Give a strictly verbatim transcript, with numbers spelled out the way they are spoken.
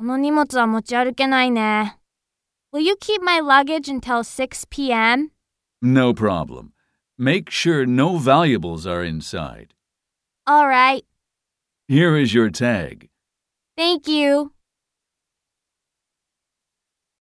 この荷物は持ち歩けないね。Will you keep my luggage until six p.m.? No problem. Make sure no valuables are inside. All right. Here is your tag. Thank you.